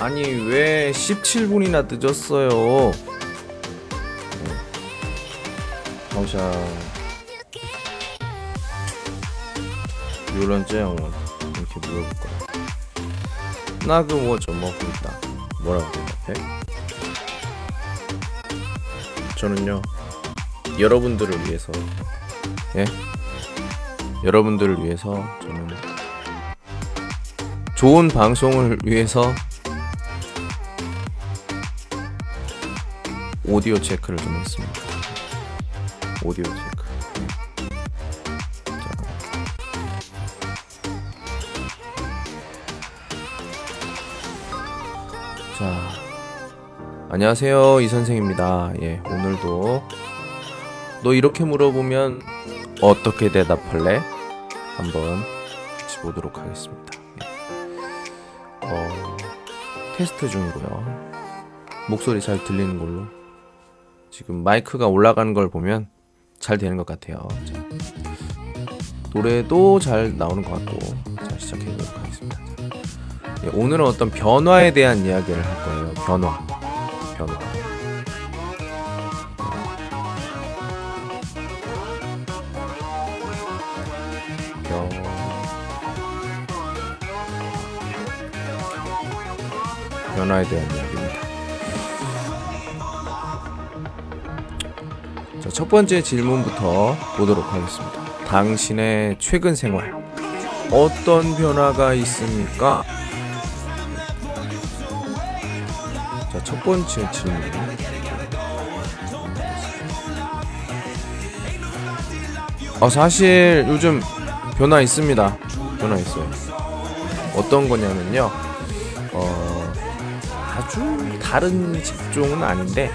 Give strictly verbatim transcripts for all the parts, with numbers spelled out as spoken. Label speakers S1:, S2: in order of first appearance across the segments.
S1: 아니 왜 십칠 분이나 늦었어요?好像有人这样问，你可以물어볼 거야. 那个我怎么回答? 뭐라고 대답해? 저는요 여러분들을 위해서 예? 여러분들을 위해서 저는 좋은 방송을 위해서 오디오 체크를 좀 했습니다. 오디오 체크. 자, 자 안녕하세요, 이 선생입니다. 예, 오늘도 너 이렇게 물어보면 어떻게 대답할래? 한번 같이 보도록 하겠습니다. 예. 어, 테스트 중이고요. 목소리 잘 들리는 걸로. 지금 마이크가 올라가는 걸 보면 잘 되는 것 같아요. 자, 노래도 잘 나오는 것 같고. 자, 시작해보도록 하겠습니다. 예, 오늘은 어떤 변화에 대한 이야기를 할 거예요. 변화. 변화. 변... 변화에 대한 이야기입니다. 자, 첫 번째 질문부터 보도록 하겠습니다. 당신의 최근 생활 어떤 변화가 있습니까? 자, 첫 번째 질문. 어, 사실 요즘 변화 있습니다. 변화 있어요. 어떤 거냐면요. 어, 아주 다른 직종은 아닌데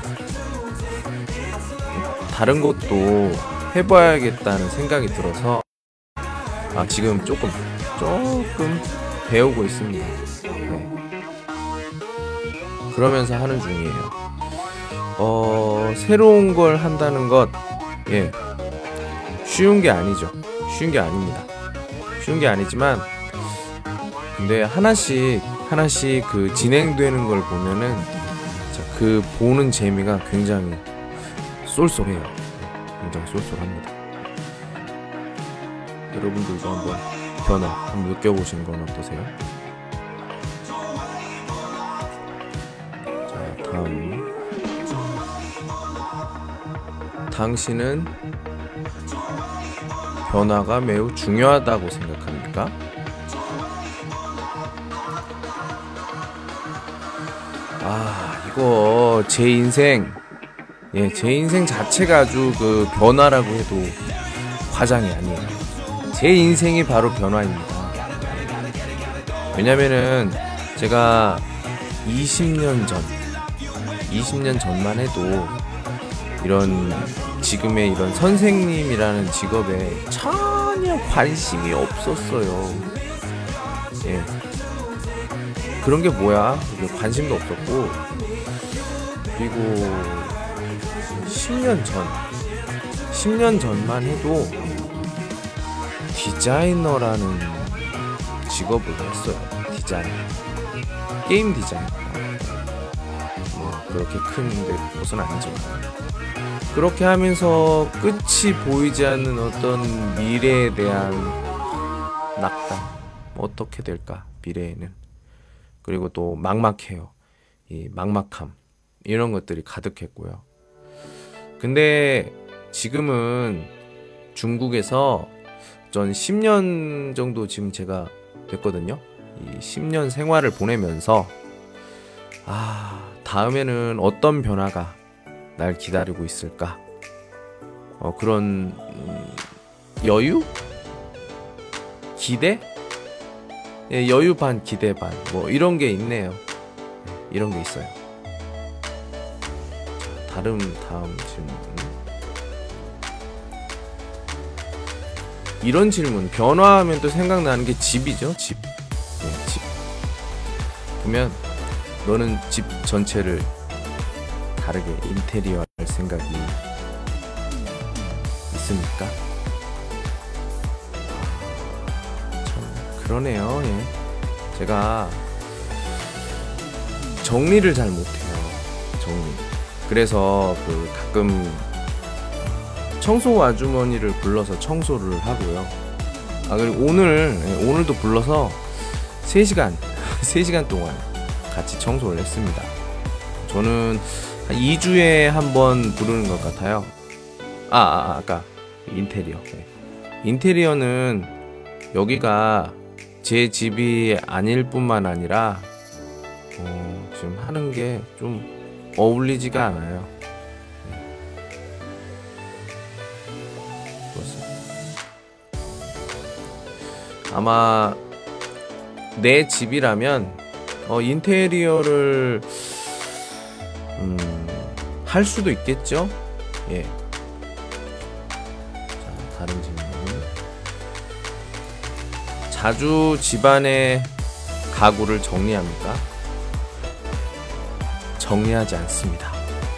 S1: 다른 것도 해봐야겠다는 생각이 들어서 아, 지금 조금 조금 배우고 있습니다. 네. 그러면서 하는 중이에요. 어, 새로운 걸 한다는 것, 예, 쉬운 게 아니죠. 쉬운 게 아닙니다. 쉬운 게 아니지만, 근데 하나씩 하나씩 그 진행되는 걸 보면은 자, 그 보는 재미가 굉장히 쏠쏠해요. 굉장히 쏠쏠합니다. 여러분들도 한번 변화 한번 느껴보시는 건 어떠세요? 자, 다음. 당신은 변화가 매우 중요하다고 생각합니까? 아, 이거 제 인생, 예, 제 인생 자체가 아주 그 변화라고 해도 과장이 아니에요. 제 인생이 바로 변화입니다. 왜냐면은 제가 이십 년 전, 이십 년 전만 해도 이런 지금의 이런 선생님이라는 직업에 전혀 관심이 없었어요. 예. 그런 게 뭐야? 관심도 없었고, 그리고 십 년 전, 십 년 전만 해도 디자이너라는 직업을 했어요. 디자이너. 게임 디자이너. 뭐 그렇게 큰 곳은 아니지만 그렇게 하면서 끝이 보이지 않는 어떤 미래에 대한 낙담. 어떻게 될까? 미래에는. 그리고 또 막막해요. 이 막막함. 이런 것들이 가득했고요. 근데 지금은 중국에서 전 십 년 정도 지금 제가 됐거든요. 이 십 년 생활을 보내면서 아, 다음에는 어떤 변화가 날 기다리고 있을까? 어, 그런 음, 여유? 기대? 예, 여유 반 기대 반 뭐 이런 게 있네요. 예, 이런 게 있어요. 자, 다음 다음 질문. 이런 질문. 변화하면 또 생각나는 게 집이죠. 집. 예, 집. 보면 너는 집 전체를 다르게 인테리어 할 생각이 있습니까? 참 그러네요. 예. 제가 정리를 잘 못해요. 정리. 그래서 그 가끔 청소 아주머니를 불러서 청소를 하고요. 아 그리고 오늘 오늘도 불러서 세 시간 세 시간 동안 같이 청소를 했습니다. 저는 한 이 주에 한 번 부르는 것 같아요. 아, 아 아까 인테리어. 네. 인테리어는 여기가 제 집이 아닐 뿐만 아니라 어, 지금 하는 게 좀 어울리지가 않아요. 네. 아마 내 집이라면 어, 인테리어를 음, 할 수도 있겠죠. 예. 자, 다른 질문. 자주 집안의 가구를 정리합니까? 정리하지 않습니다.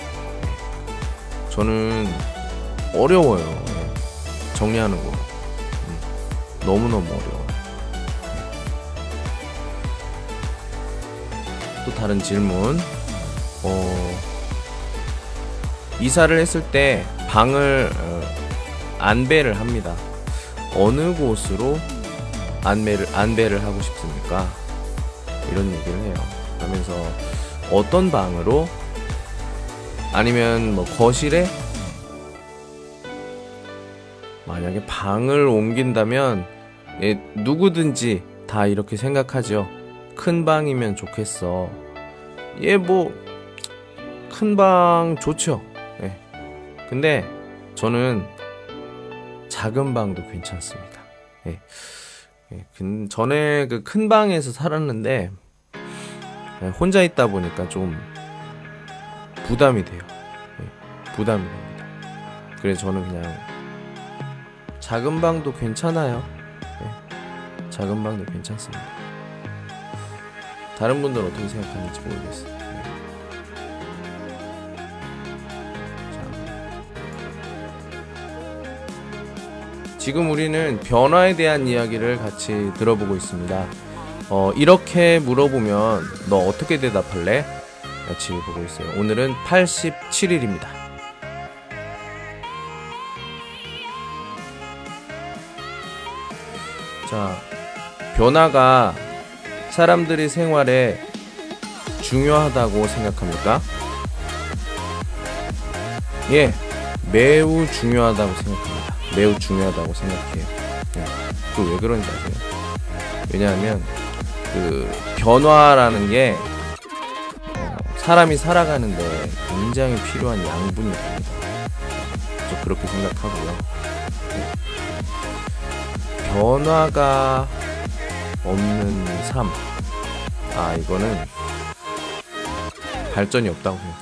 S1: 저는 어려워요. 네. 정리하는 거 음, 너무너무 어려워요. 또 다른 질문. 어, 이사를 했을 때 방을 어, 안배를 합니다. 어느 곳으로 안배를, 안배를 하고 싶습니까? 이런 얘기를 해요. 하면서 어떤 방으로? 아니면 뭐 거실에? 만약에 방을 옮긴다면 예, 누구든지 다 이렇게 생각하죠. 큰 방이면 좋겠어. 예, 뭐 큰 방 좋죠. 예. 근데 저는 작은 방도 괜찮습니다. 예. 예. 근 전에 그 큰 방에서 살았는데 예, 혼자 있다 보니까 좀 부담이 돼요. 예. 부담이 됩니다. 그래서 저는 그냥 작은 방도 괜찮아요. 예. 작은 방도 괜찮습니다. 다른 분들은 어떻게 생각하는지 모르겠어요. 네. 지금 우리는 변화에 대한 이야기를 같이 들어보고 있습니다. 어, 이렇게 물어보면 너 어떻게 대답할래? 같이 보고 있어요. 오늘은 팔십칠 일입니다. 자, 변화가 사람들의 생활에 중요하다고 생각합니까? 예, 매우 중요하다고 생각합니다. 매우 중요하다고 생각해요. 예, 그 왜 그런지 아세요? 왜냐하면 그 변화라는 게 어, 사람이 살아가는데 굉장히 필요한 양분이 됩니다. 저 그렇게 생각하고요. 예. 변화가 없는 삶, 아 이거는 발전이 없다고 생각해요.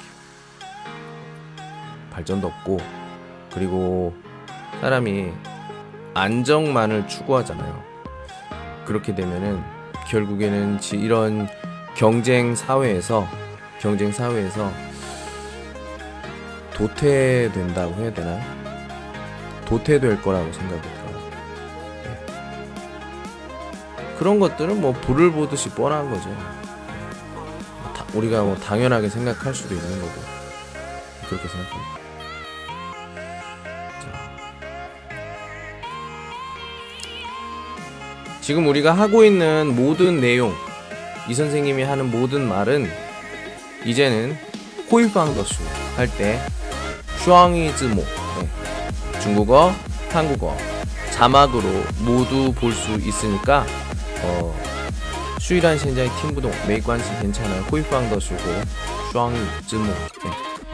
S1: 발전도 없고, 그리고 사람이 안정만을 추구하잖아요. 그렇게 되면은 결국에는 이런 경쟁 사회에서 경쟁 사회에서 도태된다고 해야 되나? 도태될 거라고 생각이 들어요. 네. 그런 것들은 뭐 불을 보듯이 뻔한 거죠. 다, 우리가 뭐 당연하게 생각할 수도 있는 거고, 그렇게 생각합니다. 지금 우리가 하고 있는 모든 내용, 이 선생님이 하는 모든 말은 이제는 호이팡더슈 할 때 슈앙이즈모, 네. 중국어, 한국어 자막으로 모두 볼 수 있으니까 어, 슈이란 현장의 팀부동 메이관시 괜찮아요. 호이팡더슈고 슈앙이즈모, 네.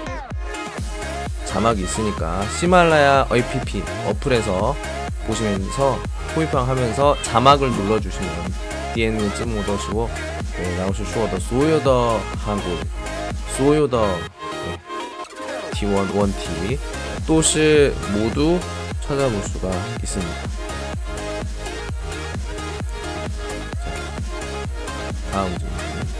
S1: 자막이 있으니까 시말라야 에이피피 어플에서 보시면서 호이팡 하면서 자막을 눌러주시면 디엔니 쯔모더시고 네, 라오스 슈어더 소요더 한국 소요더 네, 티원 원티 또시 모두 찾아볼 수가 있습니다. 다음 질문.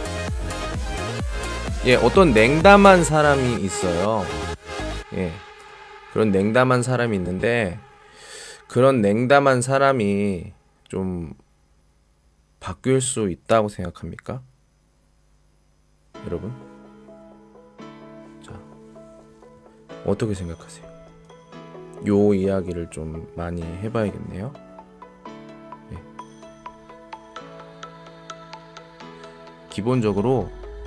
S1: 예, 어떤 냉담한 사람이 있어요. 예, 그런 냉담한 사람이 있는데 그런 냉담한 사람이 좀 바뀔 수 있다고 생각합니까? 여러분? 자, 어떻게 생각하세요? 요 이야기를 좀 많이 해봐야겠네요. 네. 기본적으로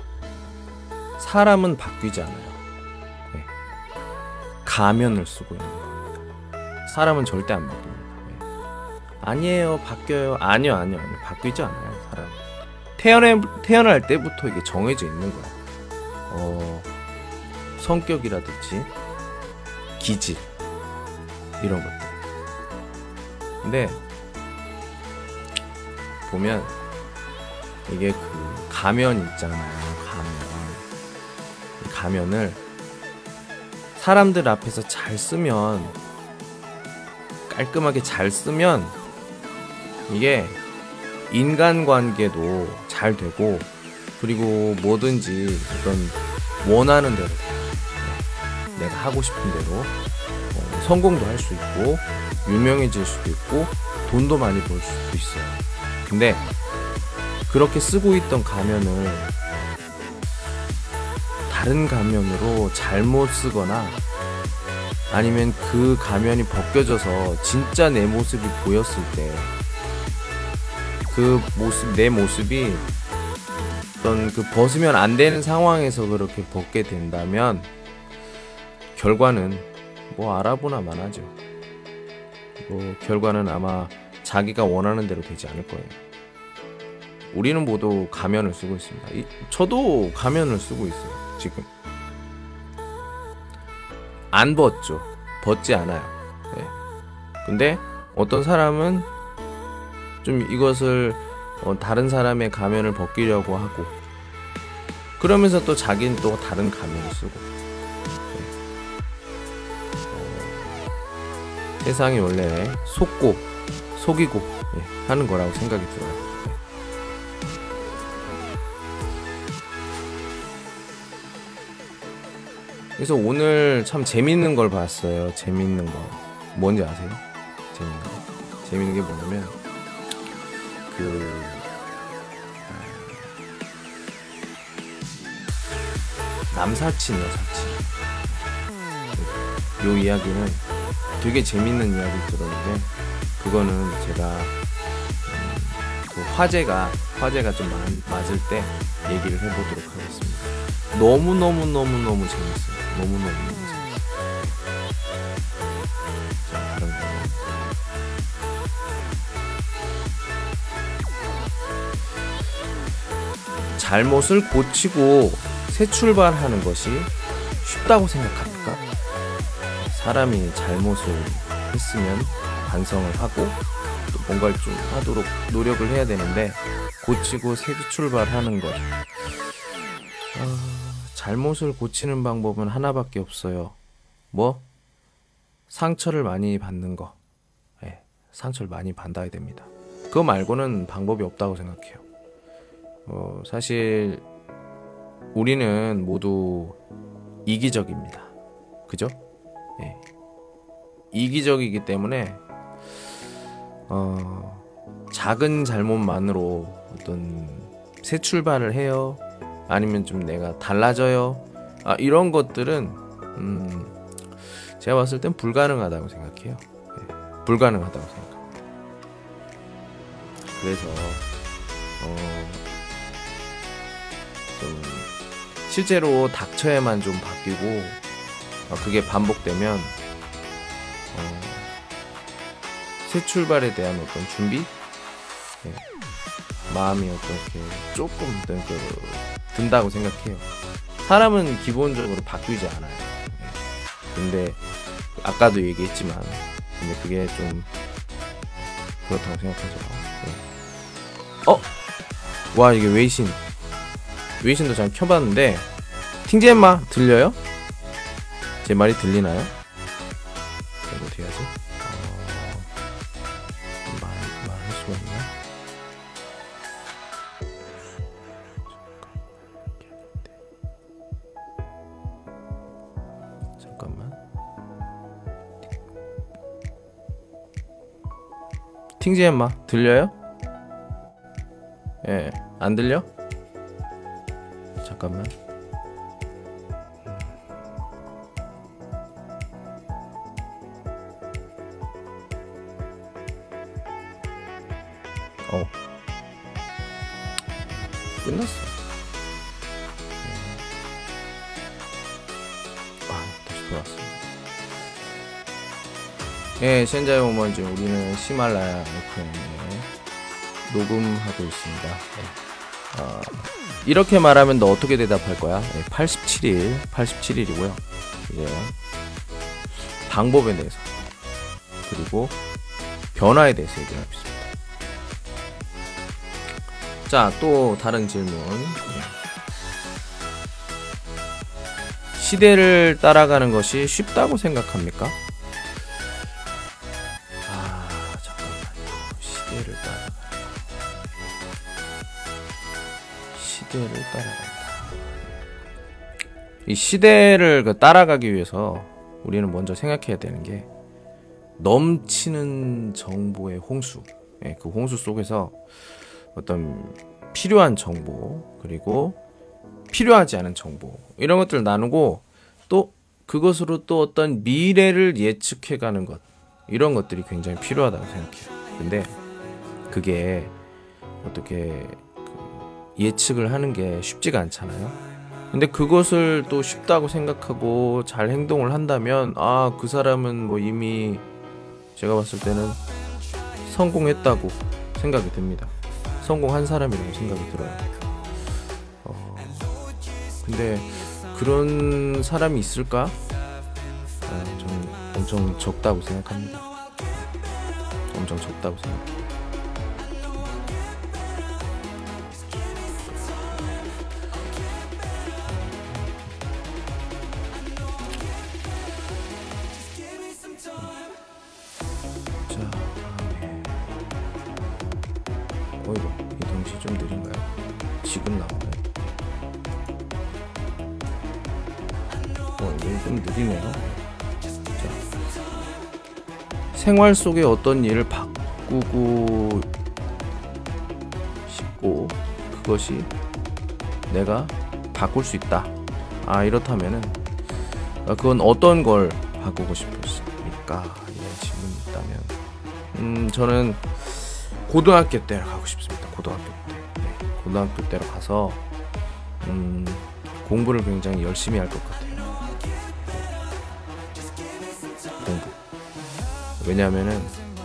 S1: 사람은 바뀌지 않아요. 네. 가면을 쓰고 있는 겁니다. 사람은 절대 안 바뀝니다. 네. 아니에요, 바뀌어요. 아니요, 아니요, 아니요. 바뀌지 않아요, 사람. 태어날, 태어날 때부터 이게 정해져 있는 거야. 어, 성격이라든지 기질 이런 것들. 근데 보면 이게 그 가면 있잖아요. 가면. 이 가면을 사람들 앞에서 잘 쓰면, 깔끔하게 잘 쓰면 이게 인간관계도 잘 되고, 그리고 뭐든지 어떤 원하는 대로 내가 하고 싶은 대로 어, 성공도 할 수 있고 유명해질 수도 있고 돈도 많이 벌 수도 있어요. 근데 그렇게 쓰고 있던 가면을 다른 가면으로 잘못 쓰거나 아니면 그 가면이 벗겨져서 진짜 내 모습이 보였을 때 그 모습, 내 모습이 어떤 그 벗으면 안 되는 상황에서 그렇게 벗게 된다면 결과는 뭐 알아보나만 하죠. 뭐 결과는 아마 자기가 원하는 대로 되지 않을 거예요. 우리는 모두 가면을 쓰고 있습니다. 이, 저도 가면을 쓰고 있어요. 지금 안 벗죠. 벗지 않아요. 네. 근데 어떤 사람은 좀 이것을 어, 다른 사람의 가면을 벗기려고 하고, 그러면서 또 자기는 또 다른 가면을 쓰고. 네. 어, 세상이 원래 속고 속이고 네, 하는 거라고 생각이 들어요. 네. 그래서 오늘 참 재밌는 걸 봤어요. 재밌는 거 뭔지 아세요? 재밌는 거 재밌는 게 뭐냐면 그 남사친 여사친 요 이야기는 되게 재밌는 이야기 들었는데, 그거는 제가 음, 그 화제가 화제가 좀 맞, 맞을 때 얘기를 해보도록 하겠습니다. 너무 너무 너무 너무 재밌어요. 너무 너무 너무 재밌어요. 자, 다른 거. 잘못을 고치고 새 출발하는 것이 쉽다고 생각합니까? 사람이 잘못을 했으면 반성을 하고 또 뭔가를 좀 하도록 노력을 해야 되는데, 고치고 새 출발하는 것, 아, 잘못을 고치는 방법은 하나밖에 없어요. 뭐? 상처를 많이 받는 거. 네, 상처를 많이 받아야 됩니다. 그거 말고는 방법이 없다고 생각해요. 어, 사실 우리는 모두 이기적입니다. 그죠? 예. 이기적이기 때문에 어, 작은 잘못만으로 어떤 새 출발을 해요. 아니면 좀 내가 달라져요. 아, 이런 것들은 음, 제가 봤을 땐 불가능하다고 생각해요. 예. 불가능하다고 생각합니다. 그래서 어, 좀 실제로 닥쳐야만 좀 바뀌고, 어, 그게 반복되면 어, 새 출발에 대한 어떤 준비, 네, 마음이 어떻게 조금 그, 든다고 생각해요. 사람은 기본적으로 바뀌지 않아요. 네. 근데 아까도 얘기했지만, 근데 그게 좀 그렇다고 생각하죠. 네. 어? 와, 이게 웨이신 웨이신도 잘 켜봤는데, 팅제엠마 들려요? 제 말이 들리나요? 이거 어떻게 하지? 어... 말, 말할 수가 있나? 잠깐만. 팅제엠마 들려요? 예, 안 들려? 잠깐만. 어 끝났어. 아 다시 돌아왔어. 예, 현재 오면 지금 우리는 히말라야 에프엠에 녹음하고 있습니다. 네. 어, 이렇게 말하면 너 어떻게 대답할 거야? 네, 팔십칠 일, 팔십칠 일이고요. 이제 방법에 대해서 그리고 변화에 대해서 얘기를 하고 있습니다. 자, 또 다른 질문. 네. 시대를 따라가는 것이 쉽다고 생각합니까? 아, 잠깐만요. 시대를 따라가. 시대를 따라간다. 이 시대를 그 따라가기 위해서 우리는 먼저 생각해야 되는 게 넘치는 정보의 홍수. 예, 그 홍수 속에서 어떤 필요한 정보 그리고 필요하지 않은 정보 이런 것들을 나누고 또 그것으로 또 어떤 미래를 예측해가는 것 이런 것들이 굉장히 필요하다고 생각해요. 근데 그게 어떻게 그 예측을 하는 게 쉽지가 않잖아요. 근데 그것을 또 쉽다고 생각하고 잘 행동을 한다면 아, 그 사람은 뭐 이미 제가 봤을 때는 성공했다고 생각이 듭니다. 성공한 사람이라고 생각이 들어요. 어, 근데 그런 사람이 있을까? 어, 저는 엄청 적다고 생각합니다. 엄청 적다고 생각해요. 자, 다음에 어이구, 이 동시 좀 느린가요? 지금 나오나요? 어, 이거 좀 느리네요. 자, 생활 속에 어떤 일을 바꾸고 싶고 그것이 내가 바꿀 수 있다. 아, 이렇다면은 그건 어떤 걸 바꾸고 싶습니까? 이런 질문이 있다면 음, 저는 고등학교 때로 가고 싶습니다. 고등학교 때. 네, 고등학교 때로 가서 음, 공부를 굉장히 열심히 할 것 같아요. 공부. 왜냐하면은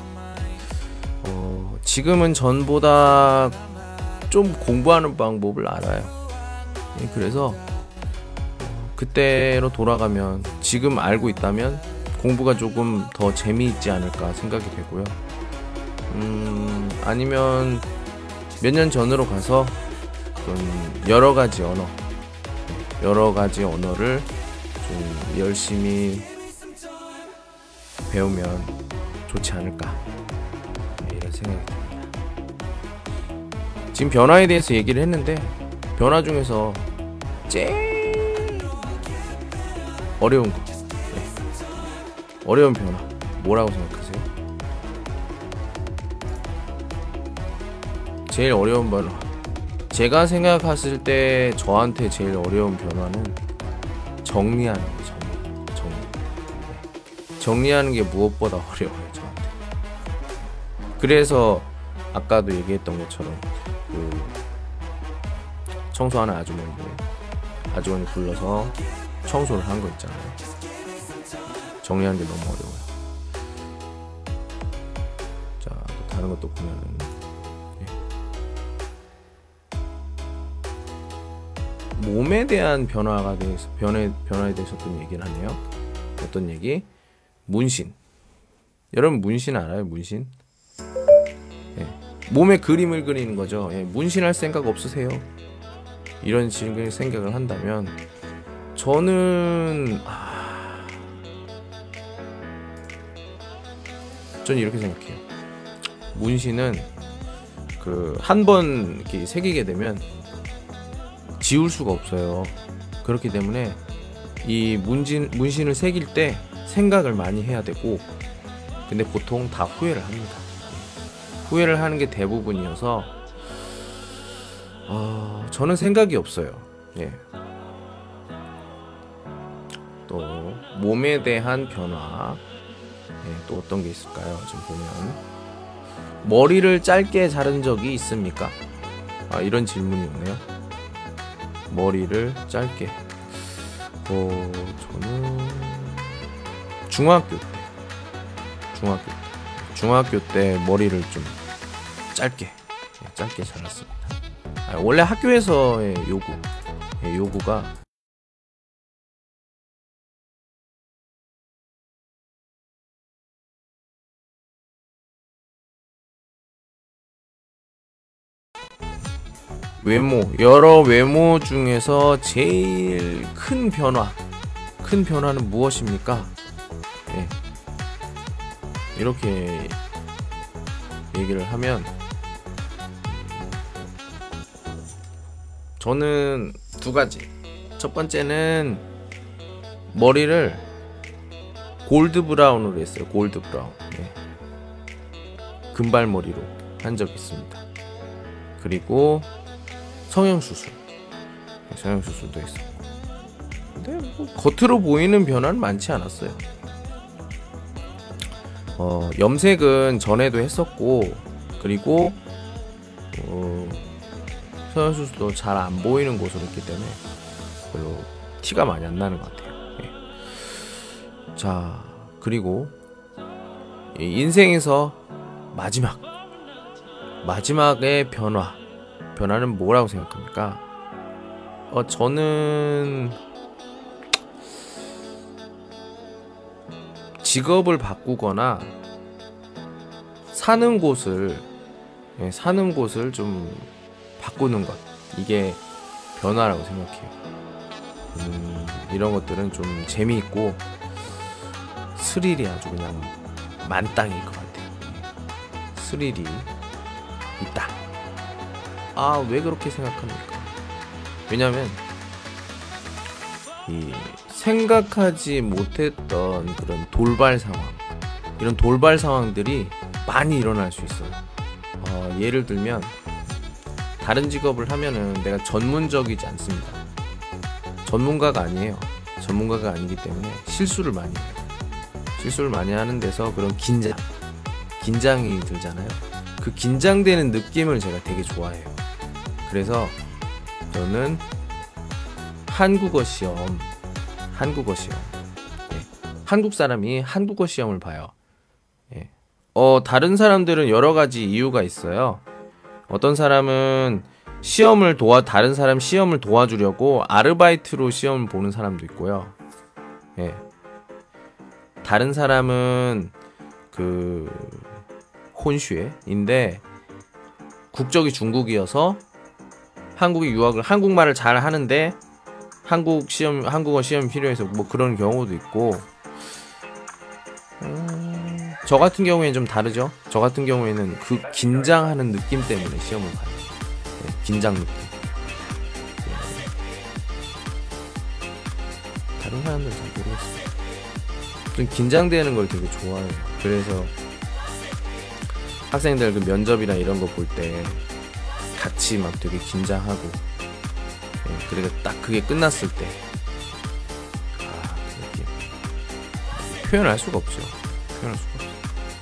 S1: 어, 지금은 전보다 좀 공부하는 방법을 알아요. 네, 그래서 그때로 돌아가면 지금 알고 있다면 공부가 조금 더 재미있지 않을까 생각이 되고요. 음, 아니면 몇 년 전으로 가서 좀 여러 가지 언어, 여러 가지 언어를 좀 열심히 배우면 좋지 않을까 이런 생각이 듭니다. 지금 변화에 대해서 얘기를 했는데 변화 중에서 제일 어려운 거, 네. 어려운 변화 뭐라고 생각하세요? 제일 어려운 변화, 제가 생각했을 때 저한테 제일 어려운 변화는 정리하는 거. 정리, 정리. 네. 정리하는 게 무엇보다 어려워요, 저한테. 그래서 아까도 얘기했던 것처럼 그 청소하는 아주머니들, 아주머니 불러서 청소를 한 거 있잖아요. 정리하는 게 너무 어려워요. 자, 또 다른 것도 보면은 예. 몸에 대한 변화가 대해서 변화에 변화에 대해서 어떤 얘기를 하네요. 어떤 얘기? 문신. 여러분 문신 알아요? 문신? 예. 몸에 그림을 그리는 거죠. 예. 문신할 생각 없으세요? 이런 식의 생각을 한다면 저는 아... 전 이렇게 생각해요. 문신은 그 한 번 이렇게 새기게 되면 지울 수가 없어요. 그렇기 때문에 이 문신 문신을 새길 때 생각을 많이 해야 되고, 근데 보통 다 후회를 합니다. 후회를 하는 게 대부분이어서 어, 저는 생각이 없어요. 예. 또 몸에 대한 변화. 예, 또 어떤 게 있을까요? 지금 보면 머리를 짧게 자른 적이 있습니까? 아, 이런 질문이 오네요. 머리를 짧게. 어, 저는 중학교 때, 중학교 때, 중학교 때 머리를 좀 짧게, 예, 짧게 잘랐습니다. 아, 원래 학교에서의 요구, 예, 요구가 외모, 여러 외모 중에서 제일 큰 변화, 큰 변화는 무엇입니까? 예. 이렇게 얘기를 하면 저는 두 가지. 첫 번째는 머리를 골드 브라운으로 했어요. 골드 브라운. 예. 금발머리로 한 적이 있습니다. 그리고 성형수술, 성형수술도 했었고. 근데 뭐 겉으로 보이는 변화는 많지 않았어요. 어, 염색은 전에도 했었고, 그리고 어, 성형수술도 잘 안 보이는 곳으로 했기 때문에 별로 티가 많이 안 나는 것 같아요. 예. 자, 그리고 인생에서 마지막 마지막의 변화 변화는 뭐라고 생각합니까? 어, 저는 직업을 바꾸거나 사는 곳을 예, 사는 곳을 좀 바꾸는 것, 이게 변화라고 생각해요. 음, 이런 것들은 좀 재미있고 스릴이 아주 그냥 만땅일 것 같아요. 스릴이 있다. 아, 왜 그렇게 생각합니까? 왜냐면 이 생각하지 못했던 그런 돌발 상황, 이런 돌발 상황들이 많이 일어날 수 있어요. 어, 예를 들면 다른 직업을 하면은 내가 전문적이지 않습니다. 전문가가 아니에요. 전문가가 아니기 때문에 실수를 많이 해요. 실수를 많이 하는 데서 그런 긴장, 긴장이 들잖아요. 그 긴장되는 느낌을 제가 되게 좋아해요. 그래서 저는 한국어 시험, 한국어 시험, 예. 한국 사람이 한국어 시험을 봐요. 예. 어, 다른 사람들은 여러 가지 이유가 있어요. 어떤 사람은 시험을 도와 다른 사람 시험을 도와주려고 아르바이트로 시험을 보는 사람도 있고요. 예. 다른 사람은 그 혼슈에인데 국적이 중국이어서 한국에 유학을 한국말을 잘 하는데 한국 시험 한국어 시험이 필요해서 뭐 그런 경우도 있고. 음, 저 같은 경우에는 좀 다르죠. 저 같은 경우에는 그 긴장하는 느낌 때문에 시험을 봐요. 네, 긴장 느낌. 네. 다른 사람들은 잘 모르겠어요. 좀 긴장되는 걸 되게 좋아해요. 그래서 학생들 그 면접이나 이런 거 볼 때 같이 막 되게 긴장하고, 네, 그리고 딱 그게 끝났을 때 아, 이렇게 표현할 수가 없죠. 표현할 수가 없어요.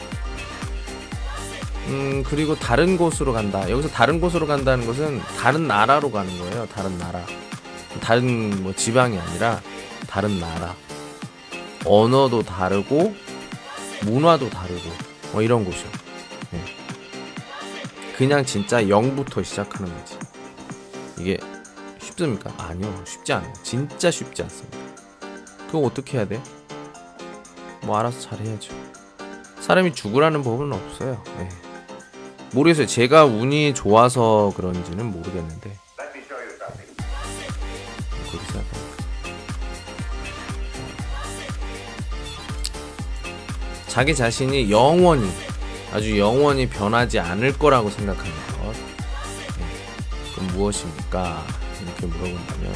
S1: 음, 그리고 다른 곳으로 간다. 여기서 다른 곳으로 간다는 것은 다른 나라로 가는 거예요. 다른 나라. 다른 뭐 지방이 아니라 다른 나라. 언어도 다르고 문화도 다르고 뭐 이런 곳이요. 네. 그냥 진짜 영부터 시작하는 거지. 이게 쉽습니까? 아니요, 쉽지 않아요. 진짜 쉽지 않습니다. 그거 어떻게 해야 돼? 뭐 알아서 잘해야죠. 사람이 죽으라는 법은 없어요. 네. 모르겠어요. 제가 운이 좋아서 그런지는 모르겠는데. 네. 그렇게 생각합니다. 자기 자신이 영원히 아주 영원히 변하지 않을 거라고 생각하는 것, 네. 그럼 무엇입니까? 이렇게 물어본다면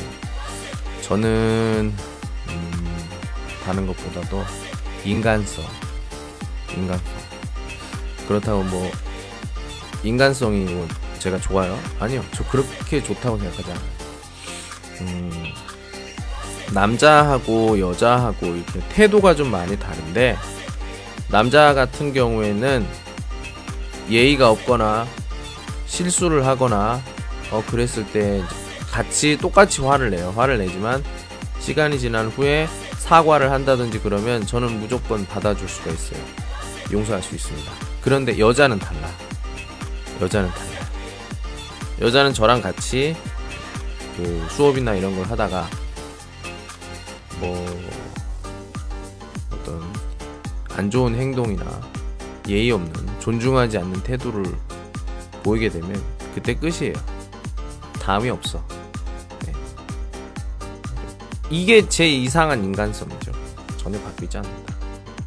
S1: 저는 음, 다른 것보다도 인간성 인간성 그렇다고 뭐 인간성이 뭐 제가 좋아요? 아니요, 저 그렇게 좋다고 생각하지 않아요. 음, 남자하고 여자하고 이렇게 태도가 좀 많이 다른데, 남자 같은 경우에는 예의가 없거나 실수를 하거나 어 그랬을 때 같이 똑같이 화를 내요. 화를 내지만 시간이 지난 후에 사과를 한다든지 그러면 저는 무조건 받아줄 수가 있어요. 용서할 수 있습니다. 그런데 여자는 달라. 여자는 달라. 여자는 저랑 같이 그 수업이나 이런 걸 하다가 뭐 어떤 안 좋은 행동이나 예의 없는, 존중하지 않는 태도를 보이게 되면 그때 끝이에요. 다음이 없어. 네. 이게 제 이상한 인간성이죠. 전혀 바뀌지 않는다.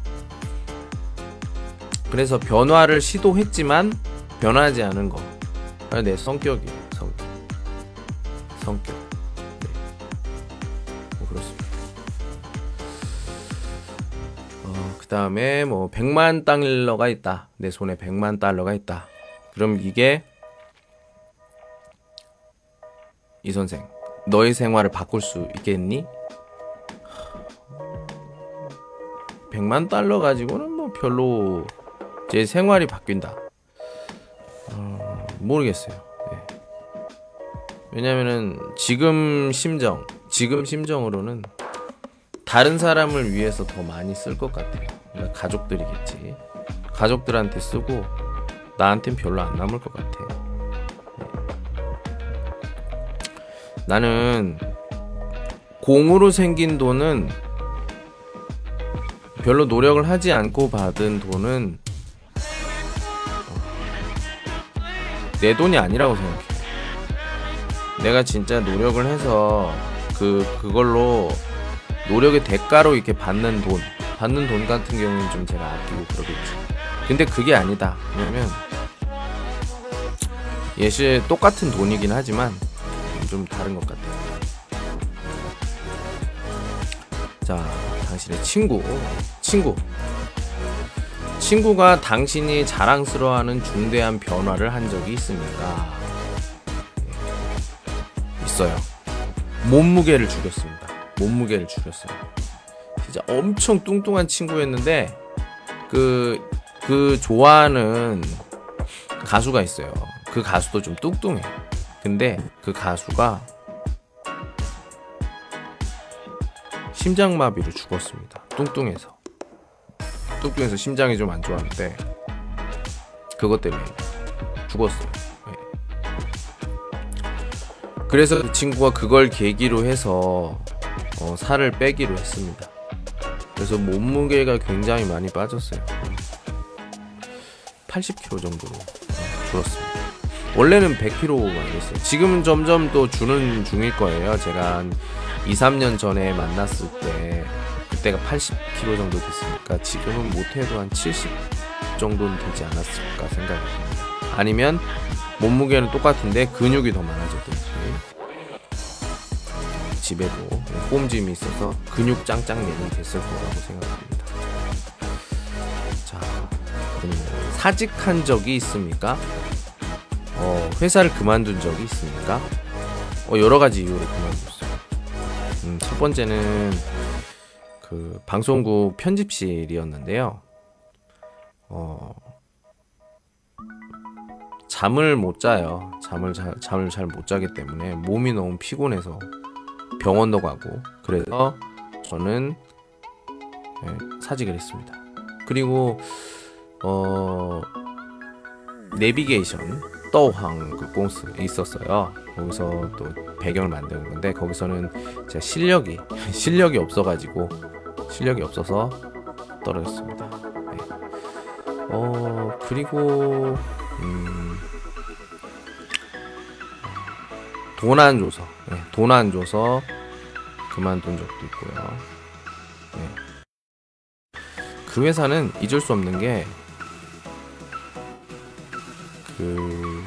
S1: 그래서 변화를 시도했지만 변하지 않은 거, 내 성격이에요. 성격. 성격. 네. 뭐 그렇습니다. 어, 그 다음에 뭐 백만 달러가 있다. 내 손에 백만 달러가 있다. 그럼 이게 이 선생, 너의 생활을 바꿀 수 있겠니? 백만 달러 가지고는 뭐 별로 제 생활이 바뀐다. 어, 모르겠어요. 네. 왜냐면은 지금 심정, 지금 심정으로는 다른 사람을 위해서 더 많이 쓸 것 같아요. 그러니까 가족들이겠지. 가족들한테 쓰고 나한텐 별로 안 남을 것 같아. 나는 공으로 생긴 돈은, 별로 노력을 하지 않고 받은 돈은 내 돈이 아니라고 생각해. 내가 진짜 노력을 해서 그 그걸로 노력의 대가로 이렇게 받는 돈, 받는 돈 같은 경우는 좀 제가 아끼고 그러겠지. 근데 그게 아니다. 왜냐면 예시 똑같은 돈이긴 하지만 좀 다른 것 같아요. 자, 당신의 친구, 친구, 친구가 당신이 자랑스러워하는 중대한 변화를 한 적이 있습니까? 네. 있어요. 몸무게를 줄였습니다. 몸무게를 줄였어요. 진짜 엄청 뚱뚱한 친구였는데 그, 그 좋아하는 가수가 있어요. 그 가수도 좀 뚱뚱해. 근데 그 가수가 심장마비로 죽었습니다. 뚱뚱해서. 뚱뚱해서 심장이 좀 안 좋았는데 그것 때문에 죽었어요. 네. 그래서 그 친구가 그걸 계기로 해서 어, 살을 빼기로 했습니다. 그래서 몸무게가 굉장히 많이 빠졌어요. 팔십 킬로그램 정도로 줄었습니다. 원래는 백 킬로그램만 됐어요. 지금은 점점 또 주는 중일 거예요. 제가 한 이, 삼 년 전에 만났을 때 그때가 팔십 킬로그램 정도 됐으니까 지금은 못해도 한 칠십 정도는 되지 않았을까 생각이 듭니다. 아니면 몸무게는 똑같은데 근육이 더 많아졌든지, 집에도 홈짐이 있어서 근육 짱짱맨이 됐을 거라고 생각합니다. 자, 그럼 사직한 적이 있습니까? 어, 회사를 그만둔 적이 있습니까? 어, 여러 가지 이유로 그만뒀어요. 음, 첫 번째는 그 방송국 편집실이었는데요. 어, 잠을 못 자요. 잠을 자, 잠을 잘 못 자기 때문에 몸이 너무 피곤해서 병원도 가고, 그래서 저는 네, 사직을 했습니다. 그리고 어, 내비게이션 떠황 그 공스 있었어요. 거기서 또 배경을 만드는 건데 거기서는 제가 실력이 실력이 없어가지고 실력이 없어서 떨어졌습니다. 네. 어 그리고 음, 돈 안 줘서 네, 돈 안 줘서 그만둔 적도 있고요. 네. 그 회사는 잊을 수 없는 게 그,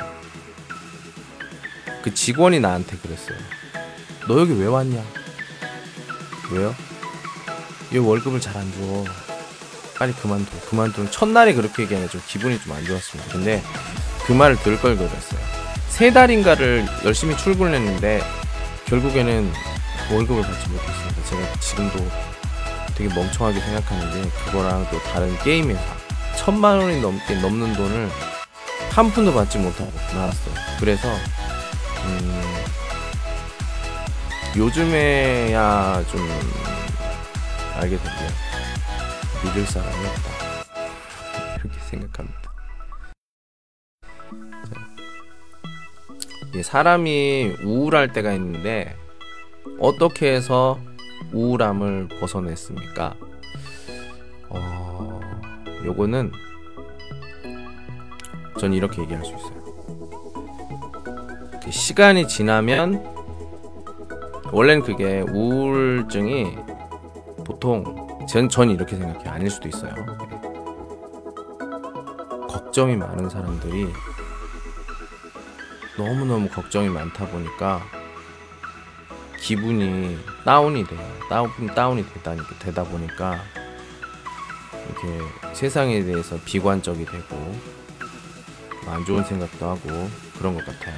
S1: 그 직원이 나한테 그랬어요. 너 여기 왜 왔냐? 왜요? 얘 월급을 잘 안 줘. 빨리 그만둬. 그만둬. 첫날에 그렇게 얘기하면 좀 기분이 좀 안 좋았습니다. 근데 그 말을 들을 걸 그랬어요. 세 달인가를 열심히 출근을 했는데 결국에는 월급을 받지 못했습니다. 제가 지금도 되게 멍청하게 생각하는데 그거랑 또 다른 게임 회사 천만 원이 넘게 넘는 돈을 한 푼도 받지 못하고 나왔어요. 그래서 음, 요즘에야 좀 알게 된 게 믿을 사람이 없다 이렇게 생각합니다. 자, 사람이 우울할 때가 있는데 어떻게 해서 우울함을 벗어냈습니까? 어, 요거는 전 이렇게 얘기할 수 있어요. 그 시간이 지나면 원래는 그게 우울증이 보통 전, 전 이렇게 생각해요. 아닐 수도 있어요. 걱정이 많은 사람들이 너무너무 걱정이 많다 보니까 기분이 다운이 돼요. 다운, 다운이 되다, 되다 보니까 이렇게 세상에 대해서 비관적이 되고 안 좋은 생각도 하고 그런 것 같아요.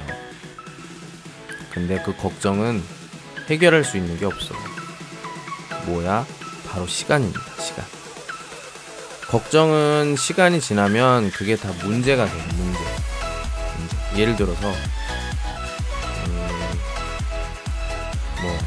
S1: 근데 그 걱정은 해결할 수 있는 게 없어. 뭐야? 바로 시간입니다. 시간. 걱정은 시간이 지나면 그게 다 문제가 돼요. 문제. 문제. 예를 들어서 음, 뭐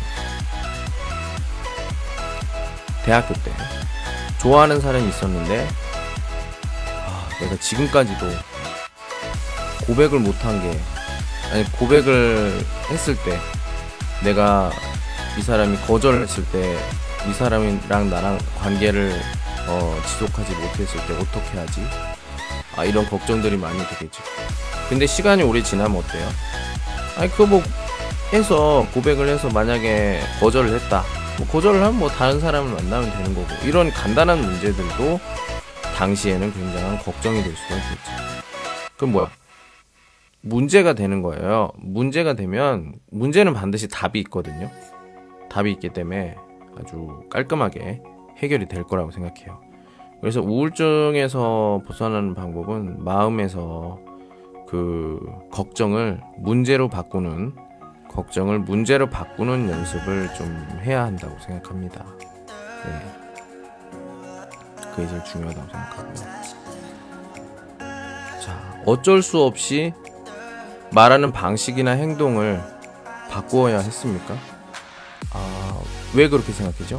S1: 대학교 때 좋아하는 사람이 있었는데 아, 내가 지금까지도 고백을 못한 게 아니 고백을 했을 때 내가 이 사람이 거절을 했을 때 이 사람이랑 나랑 관계를 어, 지속하지 못했을 때 어떻게 하지? 아 이런 걱정들이 많이 되겠죠. 근데 시간이 오래 지나면 어때요? 아니 그거 뭐 해서 고백을 해서 만약에 거절을 했다. 뭐 거절을 하면 뭐 다른 사람을 만나면 되는 거고 이런 간단한 문제들도 당시에는 굉장한 걱정이 될 수가 있겠죠. 그럼 뭐야? 문제가 되는 거예요. 문제가 되면 문제는 반드시 답이 있거든요. 답이 있기 때문에 아주 깔끔하게 해결이 될 거라고 생각해요. 그래서 우울증에서 벗어나는 방법은 마음에서 그 걱정을 문제로 바꾸는 걱정을 문제로 바꾸는 연습을 좀 해야 한다고 생각합니다. 네. 그게 제일 중요하다고 생각하고요. 자, 어쩔 수 없이 말하는 방식이나 행동을 바꾸어야 했습니까? 아, 왜 그렇게 생각하죠?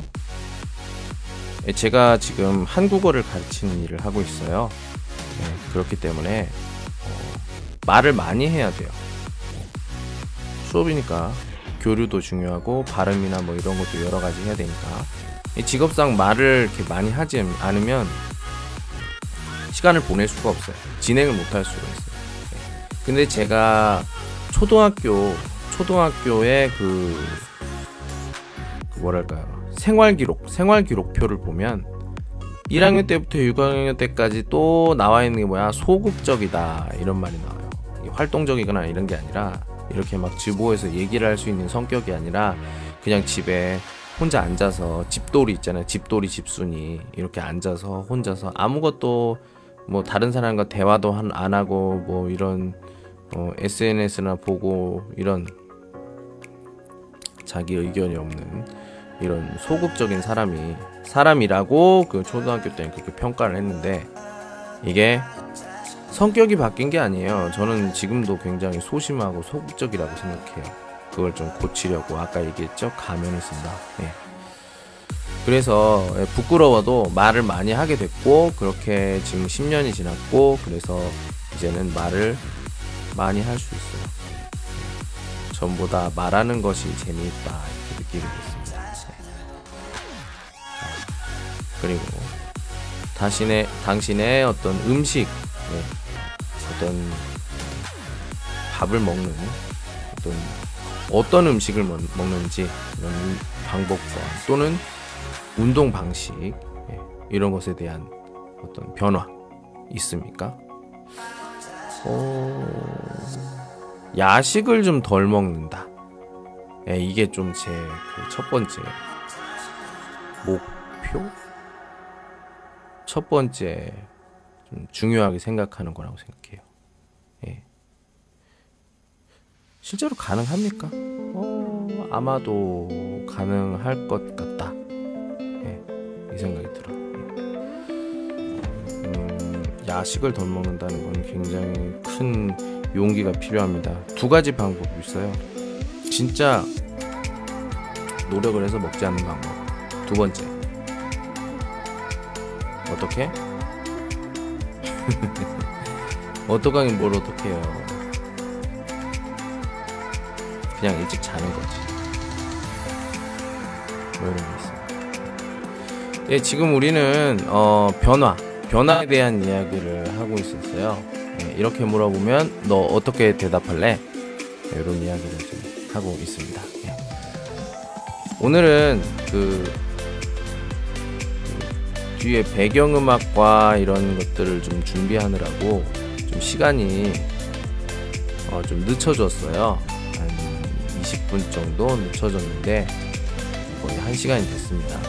S1: 제가 지금 한국어를 가르치는 일을 하고 있어요. 네, 그렇기 때문에 어, 말을 많이 해야 돼요. 수업이니까 교류도 중요하고 발음이나 뭐 이런 것도 여러 가지 해야 되니까 직업상 말을 이렇게 많이 하지 않으면 시간을 보낼 수가 없어요. 진행을 못 할 수가 있어요. 네. 근데 제가 초등학교 초등학교의 그, 그 뭐랄까요 생활기록 생활기록표를 보면 일 학년 때부터 육 학년 때까지 또 나와 있는 게 뭐야 소극적이다 이런 말이 나와요. 이게 활동적이거나 이런 게 아니라 이렇게 막 주보에서 얘기를 할 수 있는 성격이 아니라 그냥 집에 혼자 앉아서 집돌이 있잖아요. 집돌이 집순이 이렇게 앉아서 혼자서 아무것도 뭐 다른 사람과 대화도 안 하고 뭐 이런 어, 에스엔에스나 보고 이런 자기 의견이 없는 이런 소극적인 사람이 사람이라고 그 초등학교 때는 그렇게 평가를 했는데 이게 성격이 바뀐 게 아니에요. 저는 지금도 굉장히 소심하고 소극적이라고 생각해요. 그걸 좀 고치려고 아까 얘기했죠. 가면을 쓴다. 예. 그래서 부끄러워도 말을 많이 하게 됐고 그렇게 지금 십 년이 지났고 그래서 이제는 말을 많이 할 수 있어요. 전보다 말하는 것이 재미있다 이렇게 느끼게 됐습니다. 그리고 당신의, 당신의 어떤 음식, 네, 어떤 밥을 먹는 어떤 어떤 음식을 먹, 먹는지 이런 방법과 또는 운동 방식 네, 이런 것에 대한 어떤 변화 있습니까? 어... 야식을 좀 덜 먹는다. 네, 이게 좀 제 그 첫 번째 목표? 첫 번째 좀 중요하게 생각하는 거라고 생각해요. 예. 실제로 가능합니까? 어, 어, 아마도 가능할 것 같다. 예, 이 생각이 들어. 음, 야식을 덜 먹는다는 건 굉장히 큰 용기가 필요합니다. 두 가지 방법이 있어요. 진짜 노력을 해서 먹지 않는 방법. 두 번째, 어떻게? 어떡하긴 뭘 어떡해요. 그냥 일찍 자는 거지. 뭐 이런 게 있어요. 예, 지금 우리는 어, 변화, 변화에 대한 이야기를 하고 있었어요. 예, 이렇게 물어보면 너 어떻게 대답할래? 예, 이런 이야기를 좀 하고 있습니다. 예. 오늘은 그, 그 뒤에 배경음악과 이런 것들을 좀 준비하느라고 좀 시간이 어, 좀 늦춰졌어요. 한 이십 분 정도 늦춰졌는데 거의 한 시간이 됐습니다.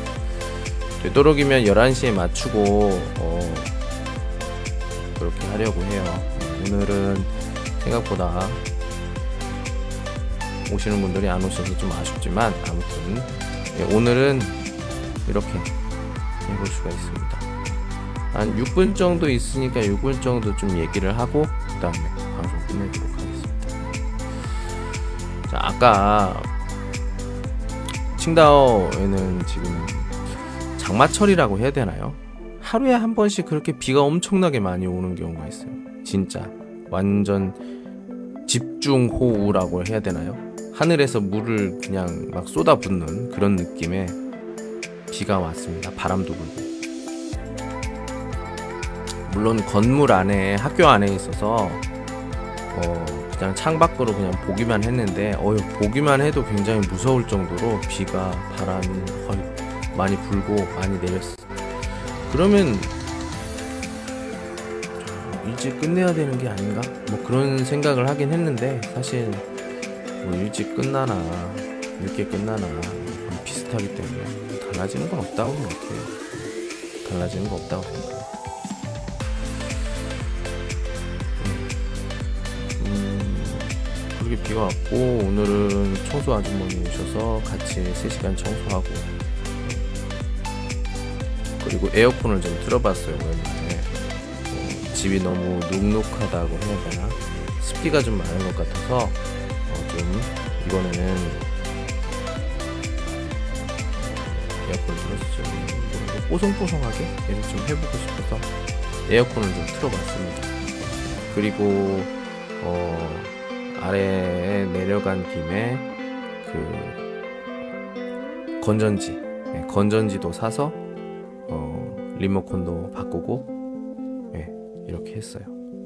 S1: 되도록이면 열한 시에 맞추고 어, 그렇게 하려고 해요. 오늘은 생각보다 오시는 분들이 안 오셔서 좀 아쉽지만 아무튼 예, 오늘은 이렇게 해볼 수가 있습니다. 한 육 분 정도 있으니까 육 분 정도 좀 얘기를 하고 그 다음에 방송 끝내도록 하겠습니다. 자, 아까 칭다오에는 지금 장마철이라고 해야 되나요? 하루에 한 번씩 그렇게 비가 엄청나게 많이 오는 경우가 있어요. 진짜 완전 집중호우라고 해야 되나요? 하늘에서 물을 그냥 막 쏟아붓는 그런 느낌의 비가 왔습니다. 바람도 불고. 물론 건물 안에, 학교 안에 있어서 어, 그냥 창밖으로 그냥 보기만 했는데 어휴, 보기만 해도 굉장히 무서울 정도로 비가, 바람이 거의 많이 불고 많이 내렸어. 그러면 일찍 끝내야 되는 게 아닌가? 뭐 그런 생각을 하긴 했는데 사실 뭐 일찍 끝나나 늦게 끝나나 비슷하기 때문에 달라지는 건 없다고 생각해요. 달라지는 거 없다고 생각해요. 음, 그렇게 비가 왔고 오늘은 청소 아주머니 오셔서 같이 세 시간 청소하고 그리고 에어컨을 좀 틀어봤어요. 오랜만에 어, 집이 너무 눅눅하다고 해야 되나? 습기가 좀 많은 것 같아서 어, 좀 이번에는 에어컨을 틀어서 좀 뽀송뽀송하게 얘를 좀 해보고 싶어서 에어컨을 좀 틀어봤습니다. 그리고 어, 아래에 내려간 김에 그 건전지 네, 건전지도 사서 어, 리모컨도 바꾸고 네, 이렇게 했어요.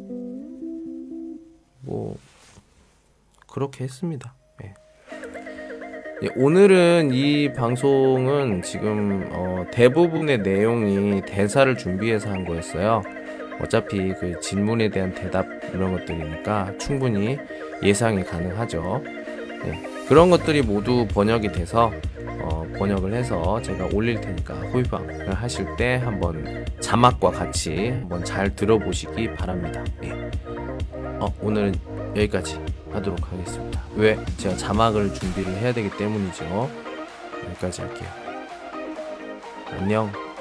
S1: 뭐 그렇게 했습니다. 네. 예, 오늘은 이 방송은 지금 어, 대부분의 내용이 대사를 준비해서 한 거였어요. 어차피 그 질문에 대한 대답 이런 것들이니까 충분히 예상이 가능하죠. 네, 그런 것들이 모두 번역이 돼서 어, 번역을 해서 제가 올릴 테니까 호위방을 하실 때 한번 자막과 같이 한번 잘 들어보시기 바랍니다. 네. 어, 오늘은 여기까지 하도록 하겠습니다. 왜? 제가 자막을 준비를 해야 되기 때문이죠. 여기까지 할게요. 안녕.